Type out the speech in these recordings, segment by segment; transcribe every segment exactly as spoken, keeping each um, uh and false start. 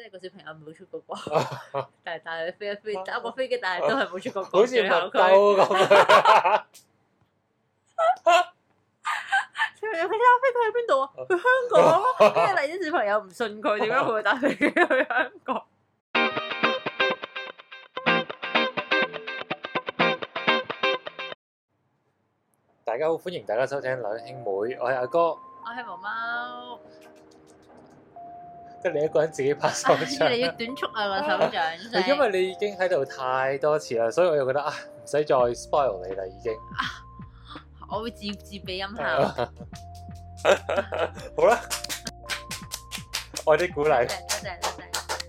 係個小朋友冇出過國，但係但係飛一飛搭個飛機，但係都係冇出過國。 好似麥佢兜咁。 小朋友佢睇下飛佢去邊度啊？去香港咯。跟住嚟啲小朋友唔信佢，點解佢會搭飛機去香港？ 大家好，歡迎大家收聽兩兄妹，我係阿哥， 我係毛貓， 得你一個人自己拍手掌。 越嚟越短促啊個手掌聲。 因為你已經喺度太多次啦，所以我又覺得啊，唔使再 spoil 你啦，已經。 我會自自備音效。 好啦，愛啲鼓勵。 多謝多謝多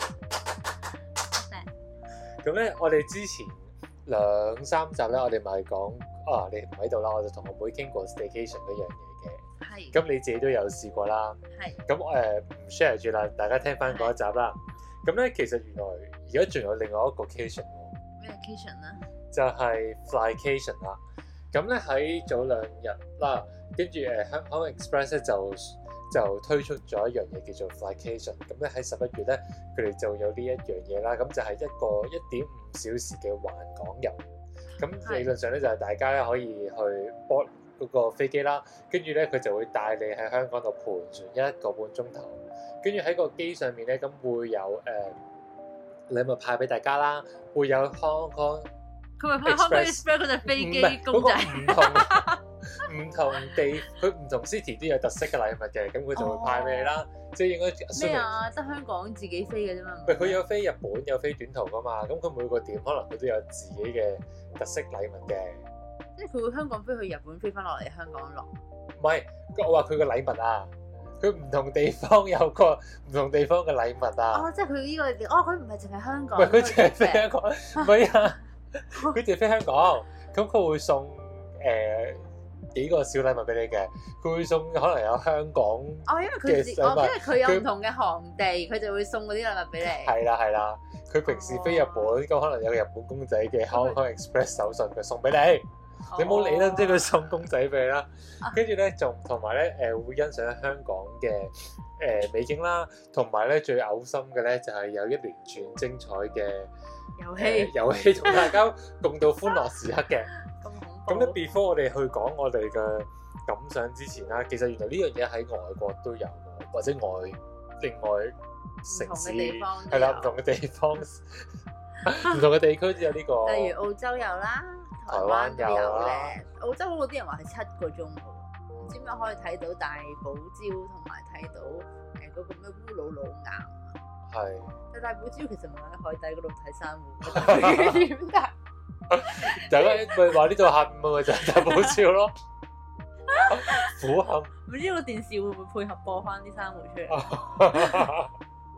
謝。 咁咧，我哋之前兩三集咧，我哋咪講啊，你唔喺度啦，我就同我妹傾過 staycation 嗰樣嘢嘅。 係。 咁你自己都有試過啦。 係。 咁誒唔 share 住啦，大家聽翻嗰一集啦。咁咧，其實原來而家仲有另外一個 cation 喎。 咩 cation 咧？ 就係 flycation 啦。咁咧喺早兩日啦，跟住誒香港 Express 咧就就推出咗一樣嘢叫做 flycation。咁咧喺十一月咧，佢哋就有呢一樣嘢啦。咁就係一個一點五小時嘅環港遊。咁理論上咧就係大家咧可以去 board 嗰個飛機啦，跟住咧佢就會帶你喺香港度盤旋一個半鐘頭。跟住喺個機上面咧，咁會有誒、呃、禮物派俾大家啦，會有 Hong Kong。 佢咪派 Hong Kong Express 嗰隻飛機公仔， 唔同唔同地，佢唔同 city 都有特色嘅禮物嘅，咁佢就會派俾你啦。即係應該咩啊？得香港自己飛嘅啫嘛。 唔係佢有飛日本，有飛短途噶嘛。咁佢每個點可能佢都有自己嘅特色禮物嘅。 即係佢會香港飛去日本，飛翻落嚟香港落。 唔係，我話佢個禮物啊，佢唔同地方有個唔同地方嘅禮物啊。 哦，即係佢呢個，哦，佢唔係淨係香港。 唔係佢淨係飛香港，唔係啊。佢哋飛香港，咁佢會送誒、呃、幾個小禮物俾你嘅。佢會送可能有香港哦，因為佢自哦，因為佢有唔同嘅航地，佢就會送嗰啲禮物俾你。係啦係啦，佢平時飛日本，咁、哦、可能有個日本公仔嘅 Hong Kong Express 手信，佢送俾你。哦、你冇理啦，即係佢送公仔俾你啦。跟住咧，仲同埋咧誒會欣賞香港嘅誒、呃、美景啦，同埋咧最嘔心嘅咧就係、是、有一連串精彩嘅遊戲遊戲同大家共度歡樂時刻嘅。 咁恐咁咧 before 我哋去講我哋嘅感想之前啦，其實原來呢樣嘢喺外國都有，或者外另外城市係啦，唔同嘅地方，唔同嘅地區都有呢、這個。 例如澳洲有啦，台灣都有咧。澳洲嗰啲人話係七個鐘喎，唔知點解可以睇到大堡礁同埋睇到誒嗰個咩烏魯魯岩。 係， 但大堡礁其實唔係喺海底嗰度睇珊瑚，點解？ 大家咪話呢度喊咪就係大堡礁咯，苦喊。 唔知個電視會唔會配合播翻啲珊瑚出嚟？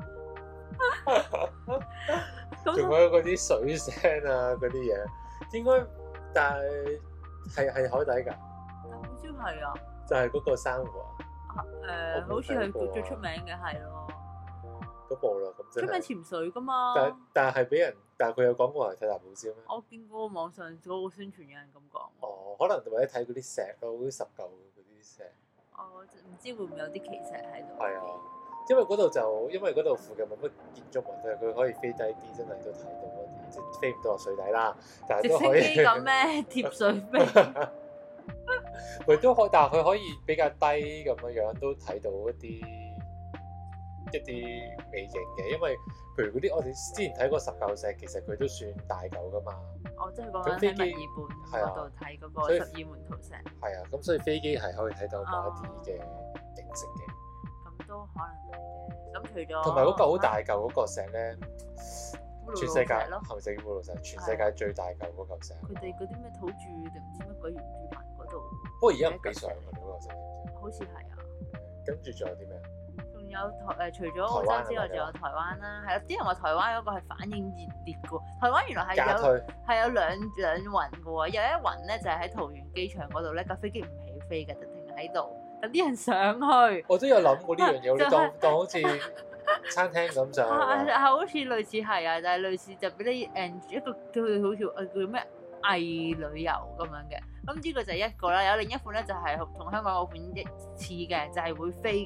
仲有嗰啲水聲啊，嗰啲嘢，應該但係係係海底㗎。 大堡礁係啊， 就係嗰個珊瑚啊。 誒、呃，好似係最出名嘅係咯。 嗰部啦，咁真係出名潛水㗎嘛。 但但係俾人，但係佢有講過係睇大堡礁咩？ 我見過網上嗰個宣傳有人咁講。 哦，可能或者睇嗰啲石咯，嗰啲十嚿嗰啲石。 哦，唔知會唔會有啲奇石喺度？ 係啊，因為嗰度就因為嗰度附近冇乜建築物，佢佢可以飛低啲，真係都睇到嗰啲，即係飛唔到落水底啦。但係都可以。 直升機咁咩？貼水飛。 佢都可，但係佢可以比較低咁樣樣，都睇到一啲。一啲微型嘅，因為譬如嗰啲我哋之前睇過十嚿石，其實佢都算大嚿噶嘛。 哦，即係講緊喺墨爾本嗰度睇嗰個十二門徒石。係啊，咁所以飛機係可以睇到某一啲嘅景色嘅。 咁都可能係嘅。咁除咗同埋嗰嚿好大嚿嗰個石咧，全世界咯， 係咪叫烏魯魯石？全世界最大嚿嗰嚿石。 佢哋嗰啲咩土著定唔知乜鬼原住民嗰度。 不過而家唔俾上㗎，嗰嚿石。 好似係啊。 跟住仲有啲咩？ 有台誒，除咗澳洲之外，仲有台灣啦，係啦。啲人話台灣嗰個係反應熱烈嘅喎，台灣原來係有係有兩兩雲嘅喎，有一雲咧就係喺桃園機場嗰度咧，架飛機唔起飛嘅，就停喺度，等啲人上去。我都有諗過呢樣嘢，你當當好似餐廳咁上。 係好似類似係啊，就係類似就俾你誒一個叫佢好似誒叫咩偽旅遊咁樣嘅。咁呢個就係一個啦，有另一款咧就係同香港嗰款一似嘅，就係會飛嘅。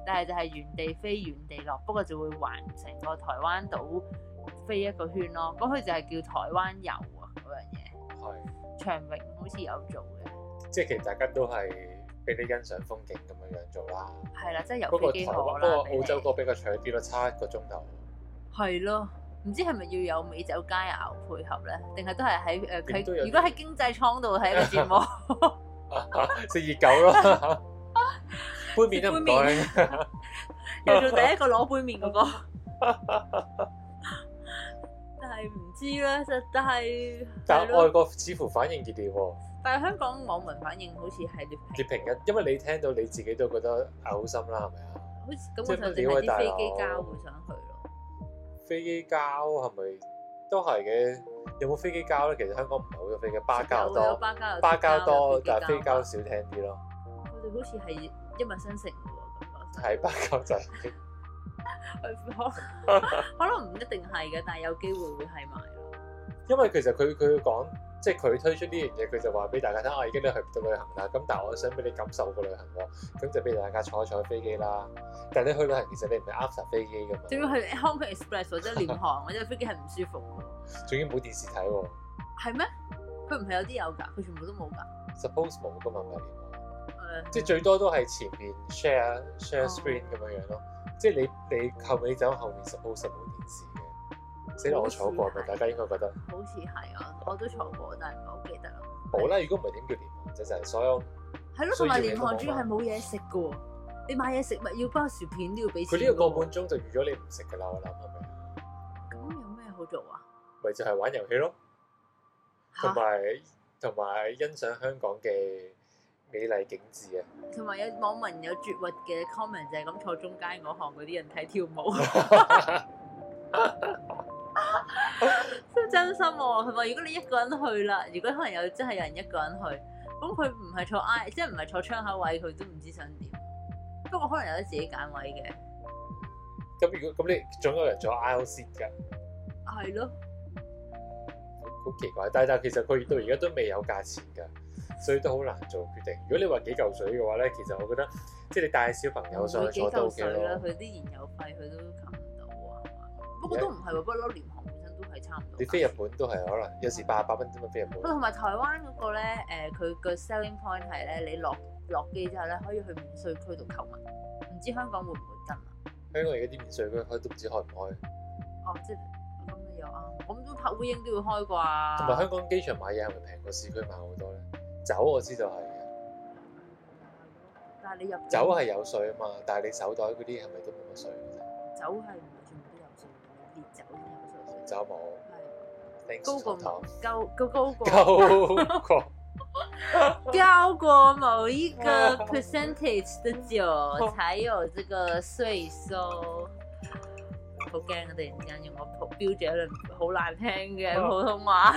但係就係原地飛原地落，不過就會環成個台灣島飛一個圈咯。咁佢就係叫台灣遊啊嗰樣嘢。 係。 長榮好似有做嘅。即係其實大家都係俾你欣賞風景咁樣樣做啦。 係啦，即係遊飛機河啦。 不過澳洲個比較長啲咯，差一個鐘頭。 係咯。唔知係咪要有美酒佳肴配合咧？定係都係喺誒佢？如果喺經濟艙度係一個節目， 食熱狗咯，杯麵都唔該， 又做第一個攞杯麵嗰個。但係唔知咧，實但係但係外國似乎反應熱烈喎。 但係香港網民反應好似係劣劣評嘅，因為你聽到你自己都覺得嘔心啦，係咪啊？ 好似咁，我上次係啲飛機膠會想去咯。飛機膠係咪都係嘅？有冇飛機膠咧？其實香港唔係好多飛機，巴膠多， 巴膠巴膠多，但係飛膠少聽啲咯。 佢哋好似係一脈相承嘅喎，咁係巴膠仔。 可能唔一定係嘅，但係有機會會係埋咯。 因為其實佢佢講，即係佢推出呢樣嘢，佢就話俾大家聽，啊，已經你去唔到旅行啦。咁但係我想俾你感受個旅行喎，咁就俾大家坐一坐飛機啦。但係你去旅行其實你唔係 after 飛機㗎嘛？仲要去 Hong Kong Express 或者廉航或者飛機係唔舒服㗎。 仲要冇電視睇喎。 係咩？佢唔係有啲有㗎？佢全部都冇㗎。 Suppose 冇㗎嘛，唔係廉航。誒。即係最多都係前面 share share screen 咁樣樣咯。即係你你後尾走後面 suppose 冇電視嘅。死啦！我坐過咪，大家應該覺得。 好似係啊，我都坐過，但係唔係好記得啦。 冇啦，如果唔係點叫廉航啫？就係所有。係咯， 同埋廉航主要係冇嘢食㗎喎。你買嘢食物要包薯片都要俾錢。 佢呢個個半鐘就預咗你唔食㗎啦，我諗係咪？ 咁有咩好做啊？ 咪就係玩遊戲咯，同埋同埋欣賞香港嘅美麗景緻啊！ 同埋有網民有絕核嘅 comment 就係咁坐中間嗰行嗰啲人睇跳舞。真真心喎，係咪？如果你一個人去啦，如果可能有真係有人一個人去，咁佢唔係坐 I， 即係唔係坐窗口位，佢都唔知想點。不過可能有得自己揀位嘅。 咁如果咁你總有人坐 aisle seat 㗎？ 係咯。 好奇怪，但係但係其實佢到而家都未有價錢㗎，所以都好難做決定。如果你話幾嚿水嘅話咧，其實我覺得即係你帶小朋友上去坐都 OK 咯。 佢啲燃油費佢都冚唔到啊，係嘛？不過都唔係喎，不嬲廉航本身都係差唔多。 你飛日本都係可能有時八百蚊啫嘛，飛日本。 同埋台灣嗰個咧，誒佢個 selling point 係咧，你落落機之後咧，可以去免稅區度購物。唔知香港會唔會跟啊？ 香港而家啲免稅區開都唔知開唔開。 哦，即係咁你又啱，咁都拍烏蠅都要開啩。 同埋香港機場買嘢係咪平過市區買好多咧？酒我知道係嘅。 但係你入酒係有稅啊嘛，但係你手袋嗰啲係咪都冇乜稅嘅啫？ 酒係唔係全部都有稅？烈酒先有稅。 酒冇。係。高過高高高過。 高過。 高過某一個 percentage 的酒才有這個稅收。好驚啊！突然之間用個標咗一輪好難聽嘅普通話。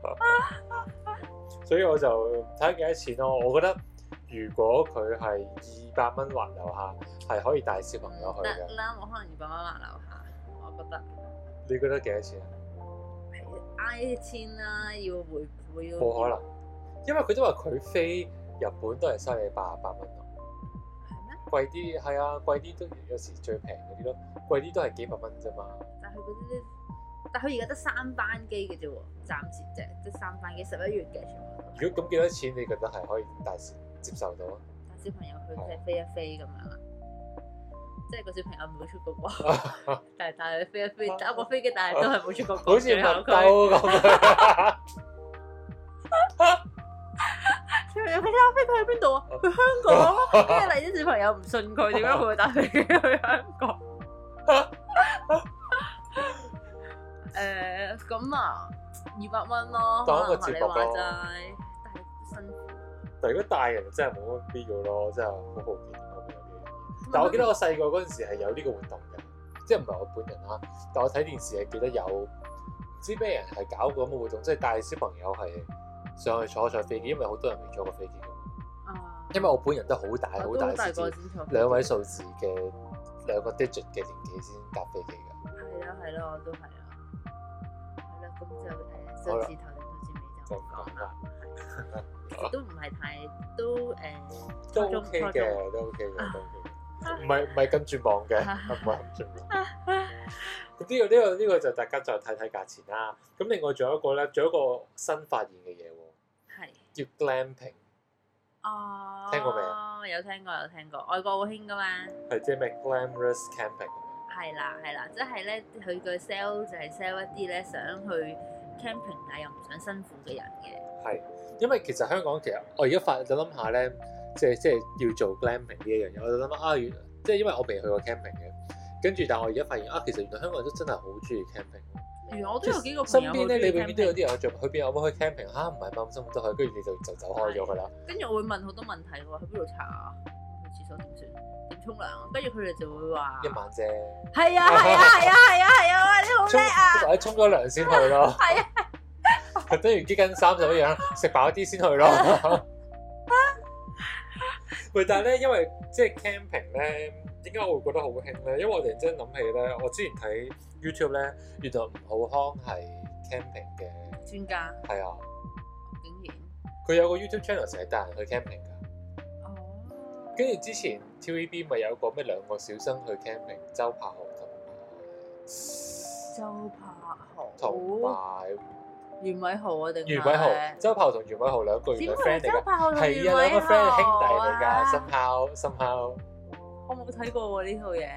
所以我就睇下幾多錢咯。我覺得如果佢係二百蚊或樓下，係可以帶小朋友去嘅。 得啦，我可能二百蚊或樓下，我覺得。 你覺得幾多錢啊？ 挨一千啦，要回回要。 冇可能，因為佢都話佢飛日本都係收你八十八蚊咯。 係咩？ 貴啲係啊，貴啲都有時最平嗰啲咯，貴啲都係幾百蚊啫嘛。 但係佢嗰啲，但係佢而家得三班機嘅啫喎，暫時啫，即係三班機，十一月嘅全部。 如果咁幾多錢，你覺得係可以大接接受到啊？ 帶小朋友去即係飛一飛咁樣啊，即係個小朋友冇出過國，但係帶佢飛一飛，搭個飛機，但係都係冇出過國。 好似麥兜咁樣。 小朋友，佢睇下飛佢去邊度啊？去香港咯。跟住嚟啲小朋友唔信佢，點解佢會帶飛機去香港？誒，咁啊，二百蚊咯， 當一個接駁咯。 但係辛苦。 但係如果大人真係冇乜必要咯，真係好好奇點解會有呢樣嘢。但係我記得我細個嗰陣時係有呢個活動嘅，即係唔係我本人啦，但我睇電視係記得有唔知咩人係搞過咁嘅活動，即係帶小朋友係上去坐坐飛機，因為好多人未坐過飛機㗎嘛。啊！因為我本人都好大好大先至兩位數字嘅兩個 digit 嘅年紀先搭飛機㗎。 係啊係咯，我都係啊。係啦，咁就誒數字頭定數字尾就唔講啦。其實都唔係太都誒， 都 OK 嘅，都 OK 嘅，都 OK 嘅。 唔係唔係咁絕望嘅，唔係咁絕望。咁呢個呢個呢個就大家就睇睇價錢啦。咁另外仲有一個咧，仲有一個新發現嘅嘢喎， 係叫 glamping。 哦， 聽過未啊？ 有聽過有聽過，外國好興噶嘛。 係即係咩 glamorous camping？ 係啦係啦，即係咧佢個 sell 就係 sell 一啲咧想去 camping 但係又唔想辛苦嘅人嘅。 係，因為其實香港其實我而家發就諗下咧，即係即係要做 glamping 呢一樣嘢，我就諗啊，即係因為我未去過 camping 嘅，跟住但係我而家發現啊，其實原來香港人都真係好中意 camping。 原來我都有幾個身朋友邊咧，你永遠都有啲人做，去邊有冇去 camping 嚇？唔係咁辛苦都去，跟住你就就走開咗㗎啦。跟住我會問好多問題喎，去邊度查啊？去廁所點算？點沖涼？跟住佢哋就會話一晚啫。 係啊係啊係啊係啊係啊！你好叻啊！ 或者沖咗涼先去咯。係啊，等於幾斤衫就一樣，食飽啲先去咯。喂，但係咧，因為即係 camping 咧，點解我會覺得好興咧？因為我突然之間諗起咧，我之前睇 YouTube 咧，原來吳浩康係 camping 嘅專家。係啊，竟然佢有個 YouTube channel 成日帶人去 camping 㗎。哦。跟住之前 T V B 咪有個咩兩個小生去 camping，周柏豪同埋周柏豪同埋袁偉豪啊定？ 袁偉豪、周柏豪同袁偉豪兩個原來 friend 嚟㗎。係啊，兩個 friend 係兄弟嚟㗎，深烤深烤。 我冇睇過喎呢套嘢。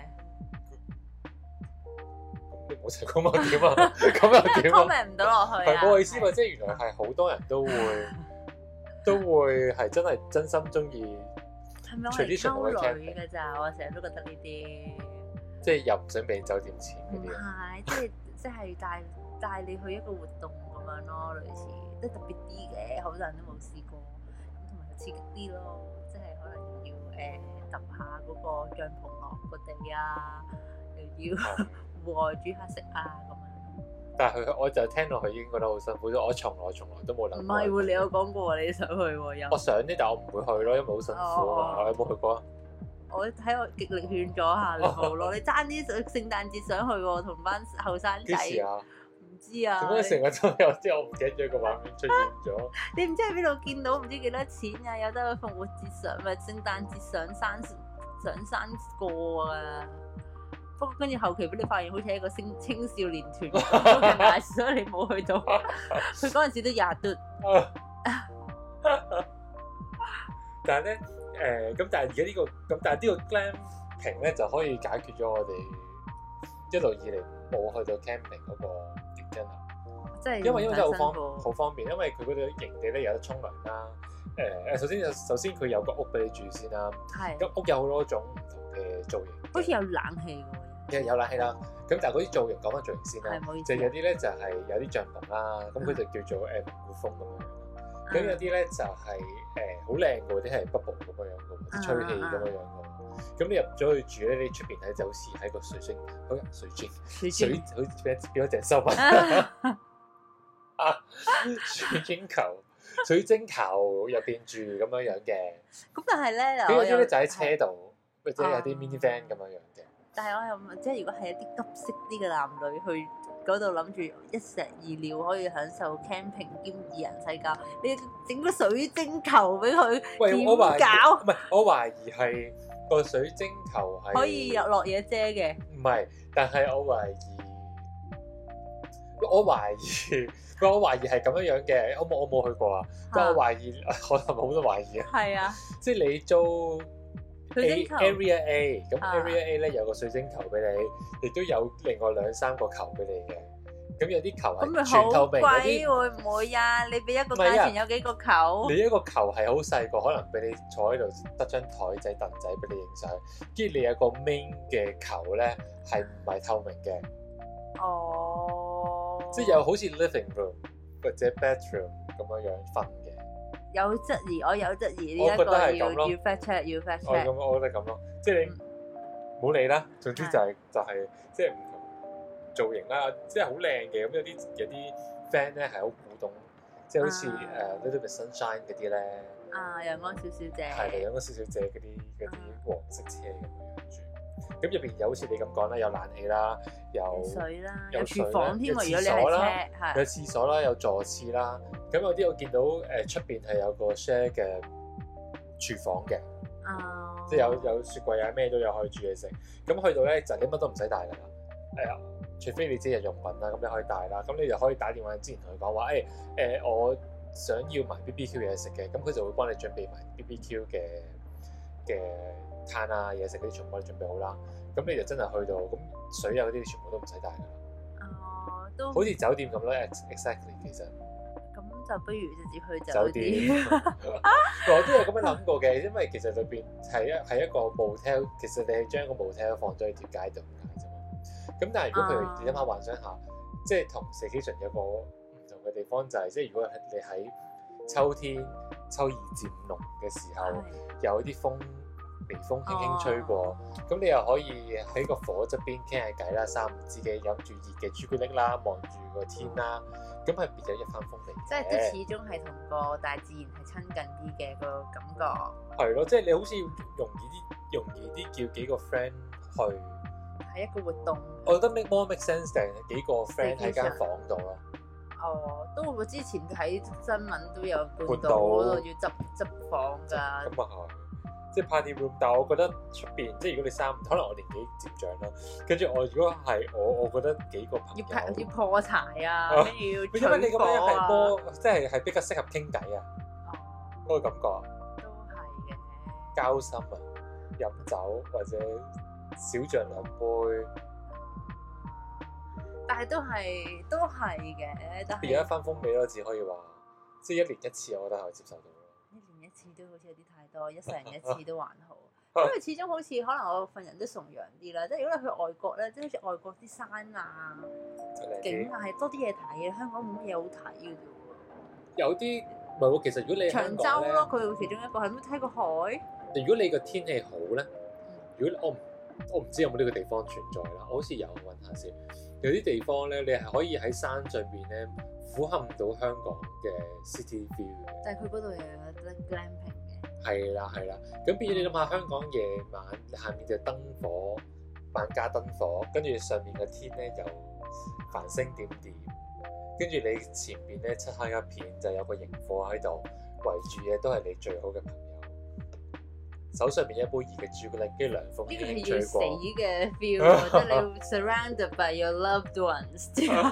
你冇睇過嘛？點啊？咁又點啊 ？comment 唔到落去啊！ 係我意思話，即係原來係好多人都會都會係真係真心中意。 係咪我係溝女㗎咋？我成日都覺得呢啲。 即係又唔想俾酒店錢嗰啲。 唔係，即係即係帶帶你去一個活動咁樣咯，類似即係特別啲嘅，好多人都冇試過，咁同埋又刺激啲咯，即係可能要誒揼下嗰個帳篷落個地啊，又要戶外煮下食啊咁樣。 但係佢我就聽落去已經覺得好辛苦，我從來從來都冇諗過。 唔係喎，你有講過你想去喎又。 我想啲，但係我唔會去咯，因為好辛苦啊嘛。你有冇去過啊？ 我睇我極力勸咗下你冇咯，你爭啲聖誕節想去喎，同班後生仔。幾時啊？唔知啊。 點解成日都有啲我唔記得咗個畫面出現咗？ 你唔知喺邊度見到唔知幾多錢啊？有得去復活節上咪聖誕節上山上山過啊！不過跟住後期俾你發現好似係一個青青少年團咁大，所以你冇去到。佢嗰陣時都廿嘟。 但係咧。誒咁、呃，但係而家呢個咁，但係呢個 glamping 咧就可以解決咗我哋一路以嚟冇去到 camping 嗰個原因啦。即係因為因為真係好方好方便，因為佢嗰度營地咧有得沖涼啦。誒、呃、誒，首先首先佢有個屋俾你住先啦。係。咁屋有好多種唔同嘅造型。好似有冷氣喎。其實有冷氣啦。咁但係嗰啲造型講翻造型先啦。係冇意思。就有啲咧就係有啲帳篷啦，咁佢就叫做誒蒙古風咁樣。咁有啲咧就係誒好靚嘅，啲係 bubble 咁樣樣嘅，啲吹氣咁樣樣嘅。咁你入咗去住咧，你出邊睇就好似喺個水晶，好水晶，水好似變變咗隻收物啊！水晶球，水晶球入邊住咁樣樣嘅。咁但係咧，有啲咧就喺車度，或者有啲 mini van 咁樣樣嘅。但係我又問，即係如果係一啲急色啲嘅男女去嗰度諗住一石二鳥可以享受 camping 兼二人世界，你整個水晶球俾佢點搞？唔係，我懷疑係個水晶球係可以入落嘢遮嘅。唔係，但係我懷疑，我懷疑，我懷疑係咁樣樣嘅。我冇我冇去過啊，但我懷疑，我係咪好多懷疑啊？係啊，即係你租 A Area A，咁 Area A 咧有個水晶球俾你，亦都有另外兩三個球俾你嘅。咁有啲球係全透明嗰啲，會唔會啊？你俾一個價錢有幾個球？你一個球係好細個，可能俾你坐喺度得張台仔凳仔俾你影相。跟住你有個 main 嘅球咧，係唔係透明嘅？哦，即係有好似 living room 或者 bedroom 咁樣樣分嘅。有質疑，我有質疑呢一個要要 fact check，要 fact check。我咁，我覺得咁咯，即係你唔好理啦。總之就係就係即係唔同造型啦，即係好靚嘅。咁有啲有啲 fan 咧係好古董，即係好似誒 Little Bit Sunshine 嗰啲咧。啊，陽光小小姐。係啦，陽光小小姐嗰啲嗰啲黃色車咁樣住。咁入邊有好似你咁講啦，有冷氣啦，有水啦，有廚房添喎。如果你係車，係有廁所啦，有座廁啦。咁有啲我見到誒出邊係有個 share 嘅廚房嘅。哦。 即係有有雪櫃啊，咩都有可以煮嘢食。咁去到咧就你乜都唔使帶㗎啦。係啊，除非你自己日用品啦，咁你可以帶啦。咁你就可以打電話之前同佢講話，誒誒，我想要埋 B B Q 嘢食嘅，咁佢就會幫你準備埋 B B Q 嘅嘅餐啊嘢食嗰啲全部幫你準備好啦。咁你就真係去到，咁水啊嗰啲全部都唔使帶㗎啦。 哦，都好似酒店咁啦 ，exactly 其實。 咁就不如直接去酒酒店。 我都有咁樣諗過嘅，因為其實裏邊係一係一個 motel，其實你係將個 motel 放咗喺條街度咁解啫嘛。咁但係如果譬如你諗下幻想下，即係同 staycation 有個唔同嘅地方就係，即係如果你喺秋天秋二至五濃嘅時候，有啲風微風輕輕吹過，咁你又可以喺個火側邊傾下偈啦，三五知己飲住熱嘅朱古力啦，望住個天啦，咁係別有一番風味。 即係都始終係同個大自然係親近啲嘅個感覺。 係咯，即係你好似容易啲，容易啲叫幾個 friend 去。 係一個活動。 我覺得 make more make sense 定幾個 friend 喺間房度咯。 哦，都會之前喺新聞都有報道嗰度要執執房㗎。 咁啊係。即係 party room，但係我覺得出邊，即係如果你三，可能我年紀漸長啦，跟住我如果係我，我覺得幾個朋友要要破柴啊，跟住要取火啊， 因為你咁樣係多，即係係比較適合傾偈啊，嗰個感覺啊， 都係嘅， 交心啊，飲酒或者少酌兩杯， 但係都係都係嘅，但係變咗一番風味咯，只可以話，即係一年一次，我覺得可以接受到。 一年一次都好似有啲太多，一世人一次都還好，因為始終好似可能我份人都崇洋啲啦，即係如果你去外國咧，即係好似外國啲山啊、景啊係多啲嘢睇嘅，香港冇乜嘢好睇嘅啫喎。 有啲唔係喎，其實如果你長洲咯，佢其中一個係咩睇個海。 如果你個天氣好咧，如果我唔我唔知有冇呢個地方存在啦，我好似有揾下先。有啲地方咧，你係可以喺山上邊咧俯瞰到香港嘅 city view 嘅。 但係佢嗰度又有得 glamping 嘅。 係啦係啦，咁變咗你諗下，香港夜晚下面就燈火，萬家燈火，跟住上面嘅天咧又繁星點點，跟住你前邊咧漆黑一片，就有個螢火喺度圍住嘅，都係你最好嘅朋友。手上面一杯熱嘅朱古力，跟住涼風輕輕吹過。呢個係要死嘅 feel， 即係你 surrounded by your loved ones。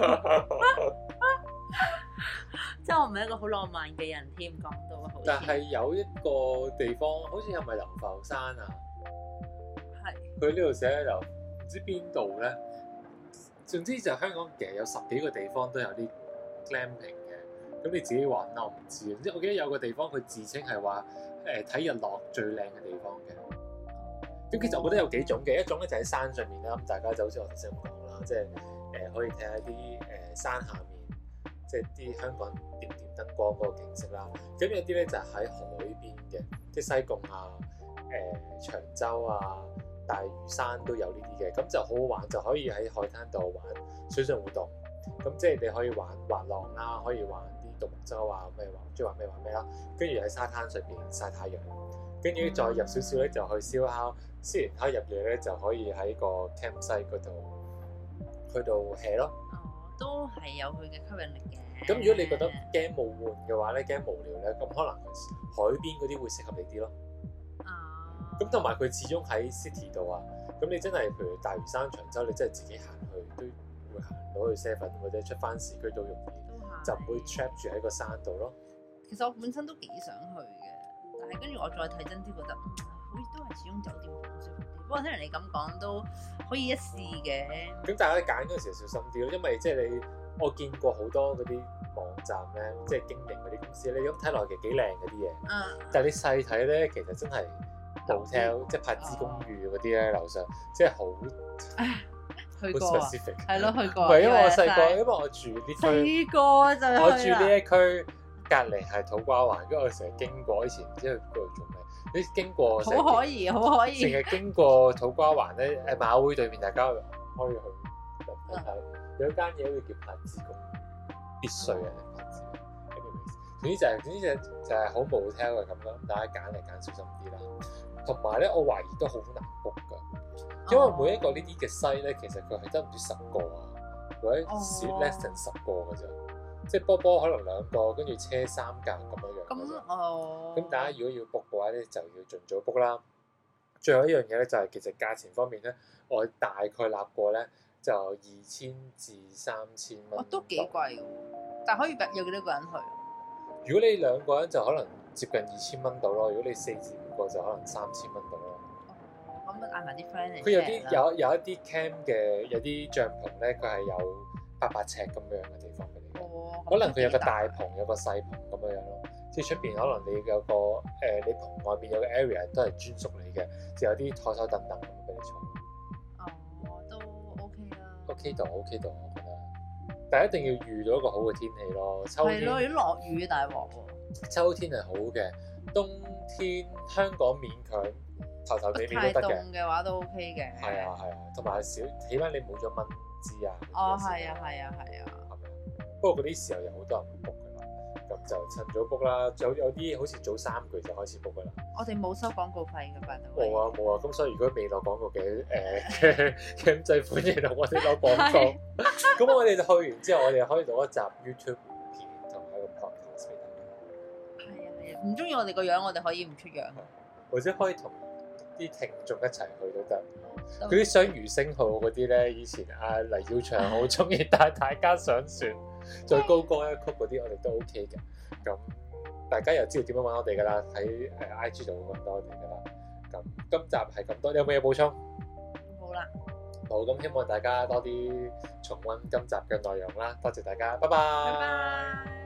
即係我唔係一個好浪漫嘅人添，講到好。 但係有一個地方，好似係咪流浮山啊？ 係。 佢呢度寫喺度，唔知邊度咧。總之就香港其實有十幾個地方都有啲 glamping 嘅，咁你自己玩啦，我唔知。即係我記得有個地方佢自稱係話誒睇日落最靚嘅地方嘅。咁其實我覺得有幾種嘅，一種咧就喺山上面啦，咁大家就好似我頭先咁講啦，即係誒、呃、可以睇下啲誒山下面。即係啲香港點點燈光嗰個景色啦，咁有啲咧就喺海邊嘅，即係西貢啊、誒、呃、長洲啊、大嶼山都有呢啲嘅，咁就好好玩，就可以喺海灘度玩水上活動，咁即係你可以玩滑浪啦，可以玩啲獨木舟啊，咩玩，中意玩咩玩咩啦，跟住喺沙灘上邊曬太陽，跟住再入少少咧就去燒烤，燒完烤入夜咧就可以喺個 campsite 嗰度去到 hea 咯。 都係有佢嘅吸引力嘅。 咁如果你覺得驚冇悶嘅話咧，驚無聊咧，咁可能海邊嗰啲會適合你啲咯。 啊。 咁同埋佢始終喺 city 度啊，咁你真係譬如大嶼山、長洲，你真係自己行去都會行到去 seven 或者出翻市區都容易，就唔會 trap 住喺個山度咯。 其實我本身都幾想去嘅，但係跟住我再睇真啲，覺得嗯，好似都係始終酒店好舒服啲。不過聽人你咁講都可以一試嘅。咁大家揀嗰陣時小心啲咯，因為即係你我見過好多嗰啲網站咧，即係經營嗰啲公司咧，咁睇落其實幾靚嗰啲嘢。嗯。但係你細睇咧，其實真係 hotel，即係柏芝公寓嗰啲咧，樓上即係好去過啊。 specific。 係咯，去過。 唔係因為我細個，因為我住呢區。 細個就係。 我住呢一區隔離係土瓜灣，跟住我成日經過，以前唔知去嗰度做咩。你經過好可以，好可以。 成日經過土瓜灣咧，誒馬會對面，大家可以去睇睇。有一間嘢好似叫柏芝公寓，必須嘅柏芝。anyways，總之就係總之就就係好冇 hotel 嘅咁咯。大家揀嚟揀小心啲啦。同埋咧，我懷疑都好難 book 㗎，因為每一個呢啲嘅西咧，其實佢係得唔知十個啊，或者少 less than 十個㗎啫。即係波波可能兩個，跟住車三架咁樣樣。 咁哦。 咁大家如果要 book 嘅話咧，就要盡早 book 啦。 最後一樣嘢咧就係其實價錢方面咧，我大概立過咧就二千至三千蚊。 哦，都幾貴喎！但可以有幾多個人去？ 如果你兩個人就可能接近二千蚊到咯，如果你四至五個就可能三千蚊到咯。 哦，咁嗌埋啲 friend 嚟。 佢有啲有有一啲 camp 嘅有啲帳篷咧，佢係有八百尺咁樣嘅地方俾你。 哦。 可能佢有個大棚，有個細棚咁樣樣咯。即係出邊可能你有個誒、呃，你棚外邊有個 area 都係專屬你嘅，就有啲台台凳凳咁俾你坐。 哦，都 OK 啦。 OK 到 OK 到，我覺得。但係一定要遇到一個好嘅天氣咯。秋天。係咯， 如果落雨大鑊喎。 秋天係好嘅，冬天香港勉強頭頭尾尾都得嘅。太凍嘅話都 OK 嘅。 係啊係啊，同埋少，起碼你冇咗蚊滋啊。 哦，係啊係啊係啊。 係咪？不過嗰啲時候有好多人 book 㗎啦，咁就趁早 book 啦。有有啲好似早三個月就開始 book 㗎啦。我哋冇收廣告費㗎，拜託。冇啊冇啊，咁所以如果未攞廣告嘅誒嘅制款嘢同我哋攞廣告，咁我哋就去完之後，我哋可以錄一集 YouTube 片同埋一個 podcast 俾大家。係啊係啊，唔中意我哋個樣，我哋可以唔出樣，或者可以同啲聽眾一齊去都得。嗰啲雙魚星號嗰啲咧，以前阿黎耀祥好中意帶大家上船，再高歌一曲嗰啲，我哋都 OK 嘅。咁大家又知道點樣揾我哋噶啦，喺誒 I G 度會揾到我哋噶啦。咁今集係咁多，你有冇嘢補充？冇啦。好，咁希望大家多啲重溫今集嘅內容啦。多謝大家，拜拜。拜拜。